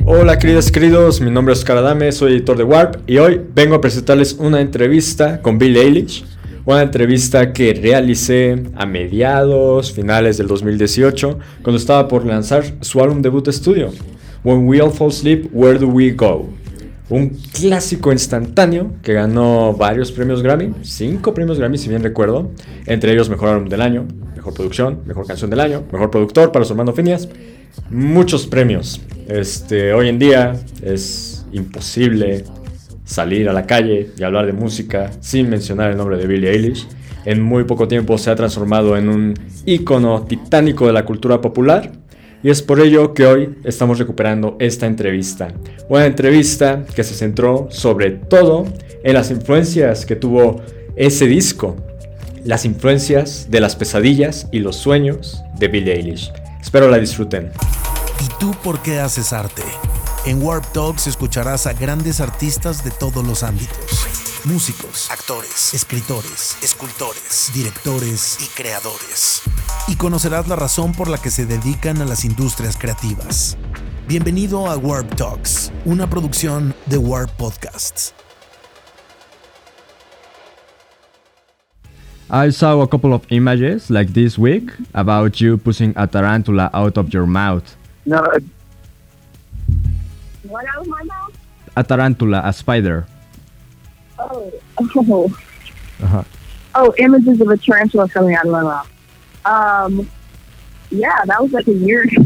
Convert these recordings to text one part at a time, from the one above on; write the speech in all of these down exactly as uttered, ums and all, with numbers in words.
Hola queridas y queridos, mi nombre es Oscar Adame, soy editor de Warp y hoy vengo a presentarles una entrevista con Billie Eilish, una entrevista que realicé a mediados, finales del dos mil dieciocho, cuando estaba por lanzar su álbum debut de estudio, When We All Fall Asleep, Where Do We Go? Un clásico instantáneo que ganó varios premios Grammy, cinco premios Grammy si bien recuerdo, entre ellos Mejor Álbum del Año, Mejor Producción, Mejor Canción del Año, Mejor Productor para su hermano Phineas, muchos premios. Este, hoy en día es imposible salir a la calle y hablar de música sin mencionar el nombre de Billie Eilish. En muy poco tiempo se ha transformado en un ícono titánico de la cultura popular. Y es por ello que hoy estamos recuperando esta entrevista. Una entrevista que se centró sobre todo en las influencias que tuvo ese disco. Las influencias de las pesadillas y los sueños de Billie Eilish. Espero la disfruten. ¿Y tú por qué haces arte? En Warp Talks escucharás a grandes artistas de todos los ámbitos. Músicos, actores, escritores, escultores, directores y creadores. Y conocerás la razón por la que se dedican a las industrias creativas. Bienvenido a Warp Talks, una producción de Warp Podcasts. I saw a couple of images like this week about you pushing a tarantula out of your mouth. No. What out of my mouth? A tarantula, a spider. Oh. Oh. Uh-huh. Oh, images of a tarantula coming out of my mouth. Um, yeah, that was like a year ago.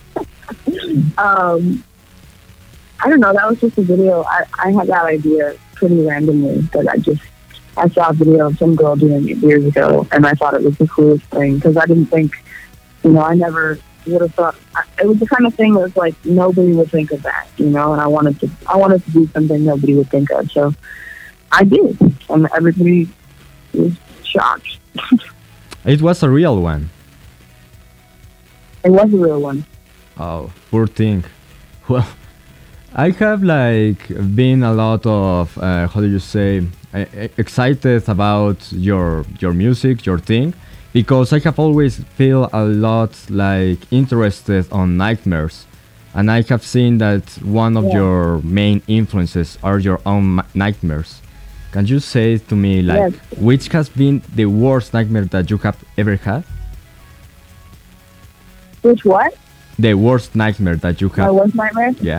um, I don't know, that was just a video. I, I had that idea pretty randomly, but I just, I saw a video of some girl doing it years ago, and I thought it was the coolest thing, because I didn't think, you know, I never would have thought, it was the kind of thing that was like, nobody would think of that, you know, and I wanted to, I wanted to do something nobody would think of, so I did, and everybody was shocked. It was a real one. It was a real one. Oh, poor thing. Well, I have like been a lot of, uh, how do you say, uh, excited about your your music, your thing, because I have always feel a lot like interested on nightmares, and I have seen that one of Yeah. your main influences are your own ma- nightmares. Can you say to me like Yes. which has been the worst nightmare that you have ever had? Which what? The worst nightmare that you My have. worst nightmare? Yeah.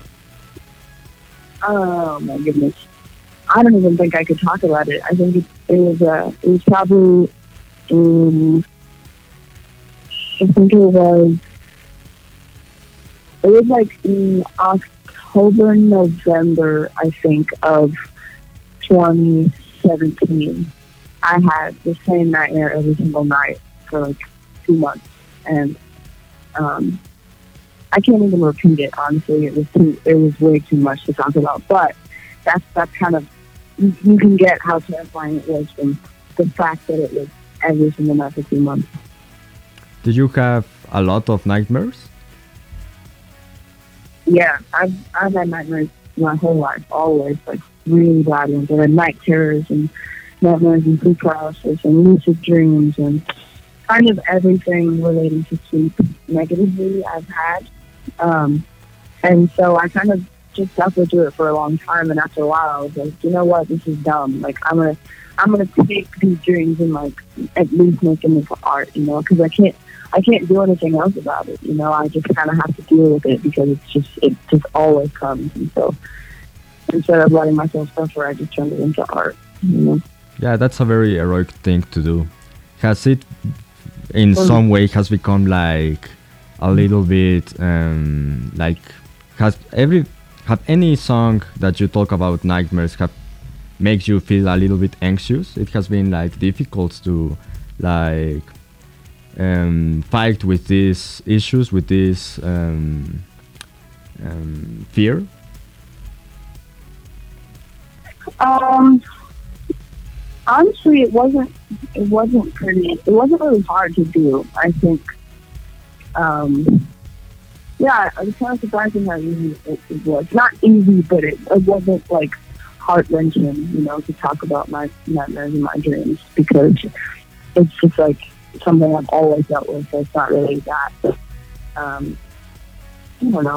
Oh my goodness. I don't even think I could talk about it. I think it, it was uh it was probably um, I think it was it was like in October, November, I think, of twenty seventeen. I had the same nightmare every single night for like two months, and um, I can't even repeat it. Honestly, it was too, it was way too much to talk about. But that's that's kind of you, you can get how terrifying it was from the fact that it was every single night for two months. Did you have a lot of nightmares? Yeah, I've I've had nightmares my whole life, always, like really bad ones. I've had night terrors and nightmares and sleep paralysis and lucid dreams and kind of everything relating to sleep negatively I've had. Um, and so I kind of just suffered through it for a long time. And after a while, I was like, you know what, this is dumb. Like I'm gonna I'm gonna take these dreams and like at least make them into art, you know, because I can't. I can't do anything else about it, you know. I just kind of have to deal with it because it's just it just always comes. And so instead of letting myself suffer, I just turned it into art, you know. Yeah, that's a very heroic thing to do. Has it, in Mm. some way, has become like a little bit um, like has every have any song that you talk about nightmares have makes you feel a little bit anxious? It has been like difficult to like um, fight with these issues, with this um, um, fear. Um, honestly, it wasn't. It wasn't pretty. It wasn't really hard to do. I think. Um, yeah, it was kind of surprising how easy it, it was. Not easy, but it, it wasn't like heart wrenching. You know, to talk about my nightmares and my dreams because it's just like something I've always dealt with. So it's not really that. Um, I don't know.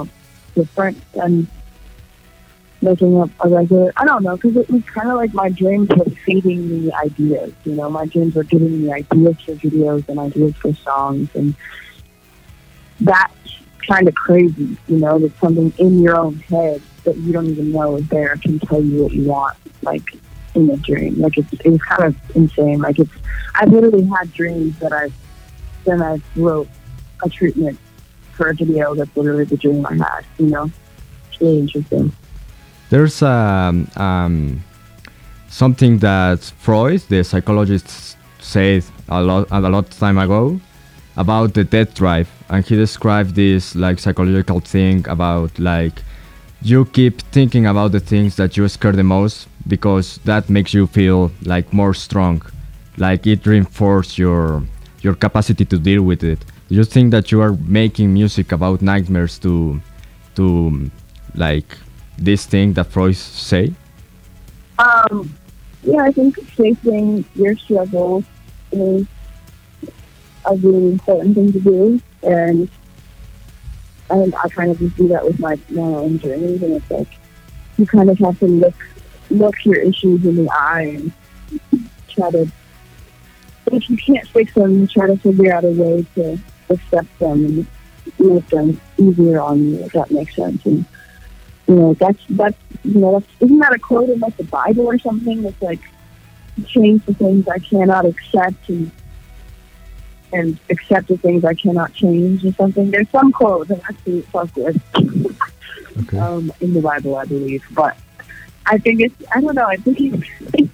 different than making up a regular. I don't know, because it was kind of like my dreams were feeding me ideas. You know, my dreams were giving me ideas for videos and ideas for songs, and that's kind of crazy. You know, that something in your own head that you don't even know is there can tell you what you want, like in a dream. Like it's it was kind of insane. Like it's I've literally had dreams that I've then I wrote a treatment for a video that's literally the dream I had. You know, it's really interesting. There's um, um, something that Freud, the psychologist, said a lot a lot of time ago about the death drive, and he described this like psychological thing about like you keep thinking about the things that you scare the most because that makes you feel like more strong, like it reinforces your your capacity to deal with it. Do you think that you are making music about nightmares to to like this thing that Freud say? Um, yeah, I think facing your struggles is a really important thing to do, and and I kind of just do that with my, my own journeys, and it's like you kind of have to look look your issues in the eye and try to, if you can't fix them, you try to figure out a way to accept them and make them easier on you, if that makes sense. And you know, that's that's you know, that's, isn't that a quote in like the Bible or something? That's like, change the things I cannot accept and and accept the things I cannot change or something. There's some quote that actually fuck with Okay. um, in the Bible, I believe. But I think it's I don't know. I think it's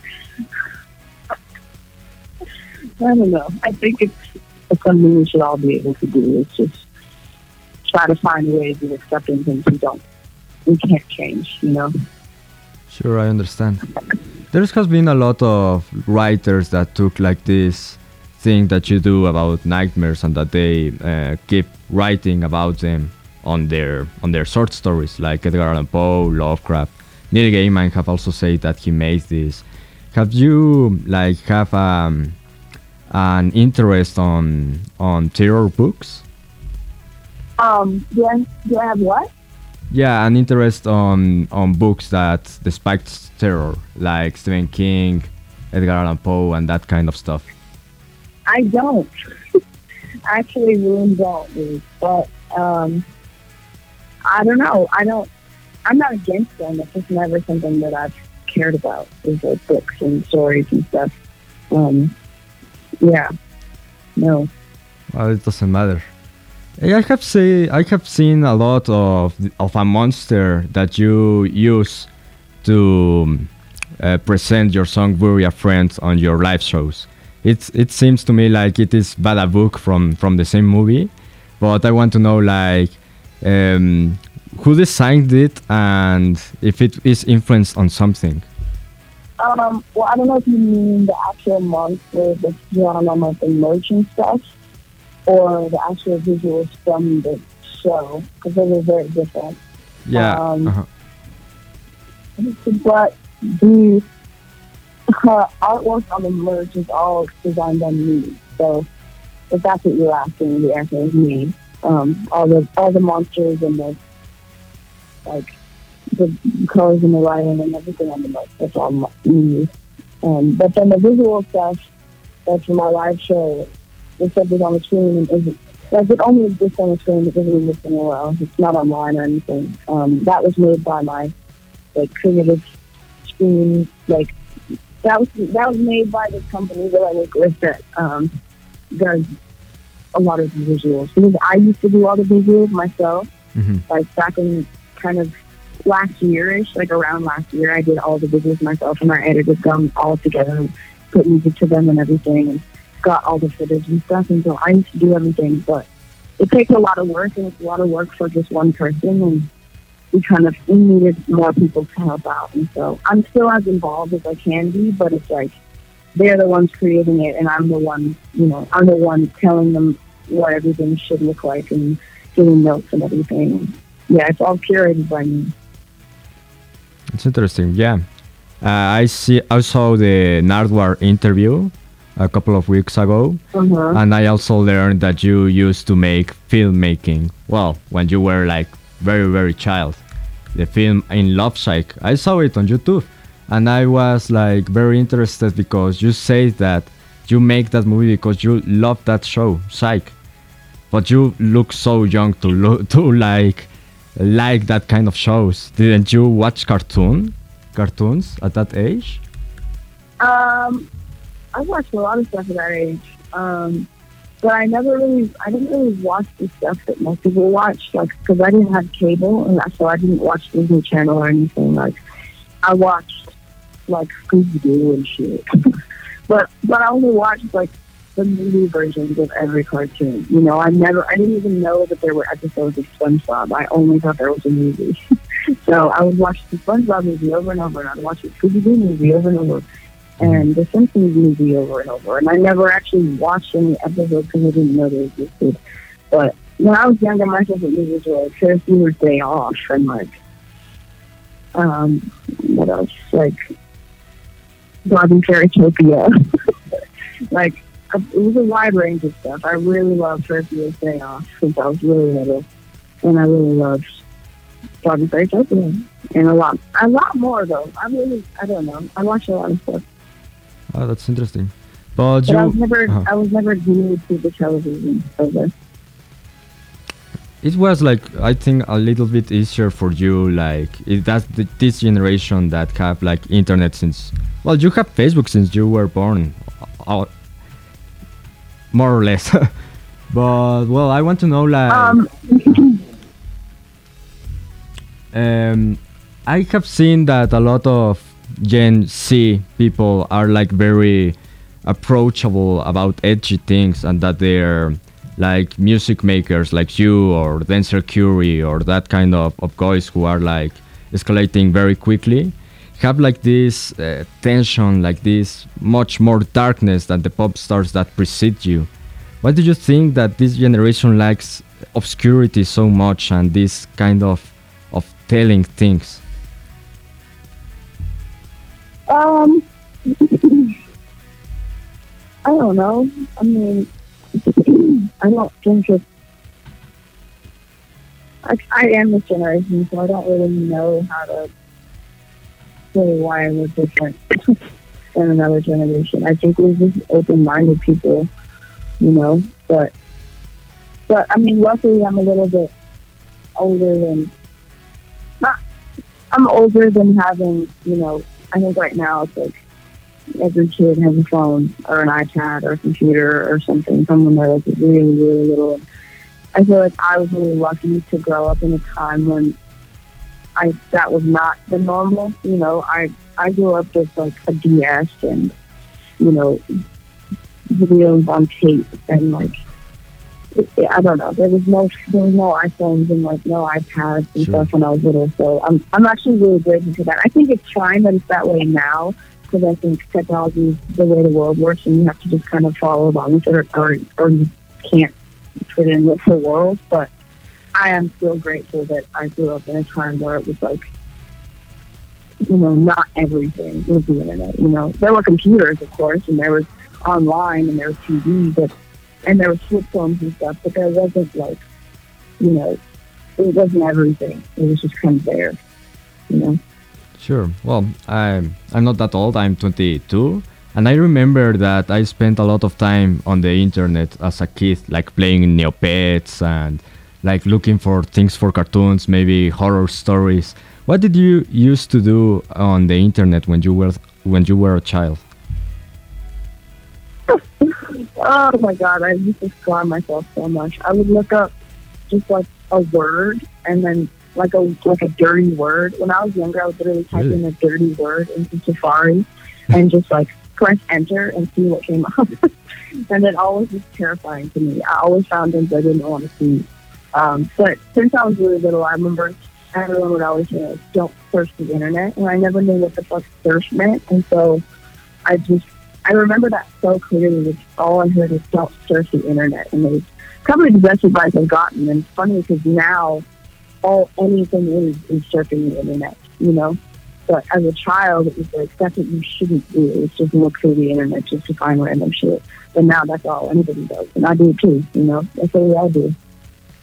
I don't know. I think it's, it's something we should all be able to do. It's just try to find ways of accepting things we don't. We can't change, you know. Sure, I understand. There has been a lot of writers that took like this thing that you do about nightmares and that they uh, keep writing about them on their on their short stories, like Edgar Allan Poe, Lovecraft. Neil Gaiman have also said that he made this. Have you like have um, an interest on on terror books? Um, do I, do I have what? Yeah, an interest on on books that despite terror, like Stephen King, Edgar Allan Poe, and that kind of stuff. I don't. I actually really don't, dude. But um, I don't know. I don't. I'm not against them. It's just never something that I've cared about. Is like books and stories and stuff. Um, yeah. No. Well, it doesn't matter. I have say I have seen a lot of of a monster that you use to uh, present your song "Bury a Friend" on your live shows. It's it seems to me like it is Bada Book from from the same movie, but I want to know like um, who designed it and if it is influenced on something. Um, well, I don't know if you mean the actual monster that's drawn on like the merch and stuff, or the actual visuals from the show, because they were very different. Yeah. Um, uh-huh. But the uh, artwork on the merch is all designed by me. So if that's what you're asking, the answer is me. Um, all the all the monsters and the like the colors and the writing and everything on the merch, that's all me. Um, but then the visual stuff, that's from our live show. The stuff is on the screen and isn't like it only exists on the screen. It doesn't exist anywhere else. It's not online or anything. Um, that was made by my like creative screen. Like that was that was made by the company that I work with that um, does a lot of the visuals. Because I used to do all the visuals myself. Mm-hmm. Like back in kind of last year-ish, like around last year, I did all the visuals myself and I edited them all together, put music to them and everything. And got all the footage and stuff, and so I used to do everything, but it takes a lot of work, and it's a lot of work for just one person, and we kind of we needed more people to help out, and so I'm still as involved as I can be, but it's like they're the ones creating it, and I'm the one, you know, I'm the one telling them what everything should look like and giving notes and everything. Yeah, it's all curated by me. It's interesting, yeah. Uh, I see. I saw the Nardwuar interview a couple of weeks ago, Uh-huh. and I also learned that you used to make filmmaking. Well, when you were like very very child. The film In Love Psych. I saw it on YouTube, and I was like very interested because you say that you make that movie because you love that show, Psych. But you look so young to lo- to like like that kind of shows. Didn't you watch cartoon cartoons at that age? Um, I watched a lot of stuff at that age. Um, but I never really, I didn't really watch the stuff that most people watch, like, because I didn't have cable, and so I didn't watch Disney Channel or anything. Like, I watched, like, Scooby-Doo and shit. but, but I only watched, like, the movie versions of every cartoon. You know, I never, I didn't even know that there were episodes of SpongeBob. I only thought there was a movie. So I would watch the SpongeBob movie over and over, and I'd watch the Scooby-Doo movie over and over, and the Simpsons movie over and over. And I never actually watched any episodes because I didn't know they existed. But when I was younger, my favorite movies were like Ferris Bueller's Day Off and like, um, what else? Like, Barbie Fairytopia. Like, it was a wide range of stuff. I really loved Ferris Bueller's Day Off since I was really little. And I really loved Barbie Fairytopia. And a lot, a lot more though. I really, I don't know. I watched a lot of stuff. Oh, that's interesting. But, But you, I was never, uh-huh. I was never glued to the television ever. It was like I think a little bit easier for you, like it, that's the, this generation that have like internet since. Well, you have Facebook since you were born, uh, more or less. But well, I want to know like. Um, Um, I have seen that a lot of Gen Z people are like very approachable about edgy things, and that they're like music makers like you or Denzel Curry or that kind of, of guys who are like escalating very quickly, have like this uh, tension, like this much more darkness than the pop stars that precede you. Why do you think that this generation likes obscurity so much and this kind of of telling things? um, I don't know. I mean, I don't think it's. I, I am this generation, so I don't really know how to say why we're different than another generation. I think we're just open-minded people, you know. But, but I mean, luckily, I'm a little bit older than. Not. I'm older than having, you know. I think right now it's like every kid has a phone or an iPad or a computer or something. Someone that is really, really little. I feel like I was really lucky to grow up in a time when I that was not the normal. You know, I I grew up with like a D S and, you know, videos on tape and like it, I don't know. There was no there was no iPhones and like no iPads and Sure. stuff when I was little. So I'm I'm actually really grateful for that. I think it's fine that it's that way now, because I think technology is the way the world works, and you have to just kind of follow along with it, or or, or you can't fit in with the world. But I am still grateful that I grew up in a time where it was like, you know, not everything was the internet. You know, there were computers, of course, and there was online, and there was T V, but and there was flip phones and stuff, but there wasn't like, you know, it wasn't everything. It was just kind of there, you know. Sure. Well, I'm I'm not that old. I'm twenty-two, and I remember that I spent a lot of time on the internet as a kid, like playing Neopets and like looking for things for cartoons, maybe horror stories. What did you used to do on the internet when you were when you were a child? Oh my God, I used to scar myself so much. I would look up just like a word and then like a like a dirty word. When I was younger, I would literally type Really? in a dirty word into Safari and just like press enter and see what came up. And it always was terrifying to me. I always found things I didn't want to see. Um, but since I was really little, I remember everyone would always say, like, don't surf the internet. And I never knew what the fuck surf meant. And so I just, I remember that so clearly. It's all I heard is don't surf the internet. And it was probably the best advice I've gotten. And it's funny because now all anything is is surfing the internet, you know? But as a child, it was like, that's what you shouldn't do. It's just look through the internet just to find random shit. But now that's all anybody does. And I do too, you know? That's what we all do.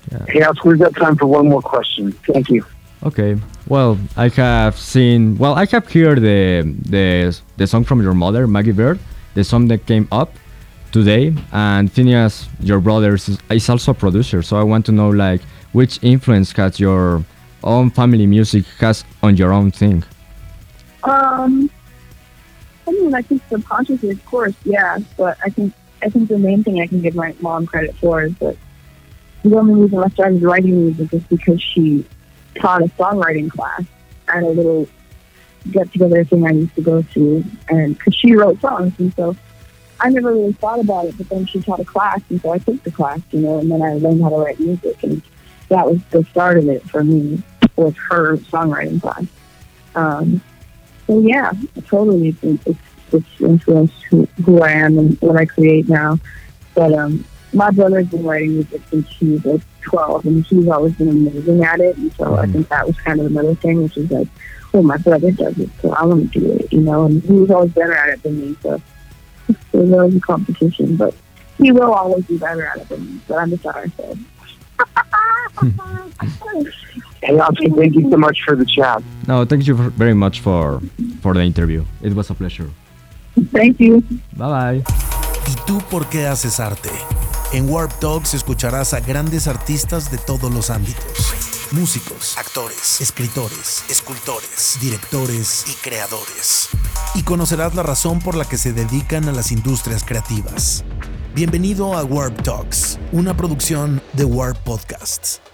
Yeah. Hey, Alex, we've got time for one more question. Thank you. Okay. Well, I have seen. Well, I have heard the the the song from your mother, Maggie Bird, the song that came up today, and Phineas, your brother, is, is also a producer. So I want to know, like, which influence has your own family music has on your own thing. Um, I mean, I think subconsciously, of course, yeah. But I think I think the main thing I can give my mom credit for is that the only reason I started writing music is because she taught a songwriting class at a little get-together thing I used to go to, and because she wrote songs, and so I never really thought about it, but then she taught a class, and so I took the class, you know, and then I learned how to write music, and that was the start of it for me, was her songwriting class. Um, so yeah, totally, it's, it's, it's influenced who, who I am and what I create now. But um, my brother's been writing music since he was like twelve, and he's always been amazing at it, and so I think that was kind of another thing, which is like, oh, my brother does it, so I want to do it, you know, and he was always better at it than me, so there's always a competition, but he will always be better at it than me, but I'm just sorry, so. Hey, Oscar, thank you so much for the chat. No, thank you very much for for the interview. It was a pleasure. Thank you. Bye bye. ¿Y tú por qué haces arte? En Warp Talks escucharás a grandes artistas de todos los ámbitos. Músicos, actores, escritores, escultores, directores y creadores. Y conocerás la razón por la que se dedican a las industrias creativas. Bienvenido a Warp Talks, una producción de Warp Podcasts.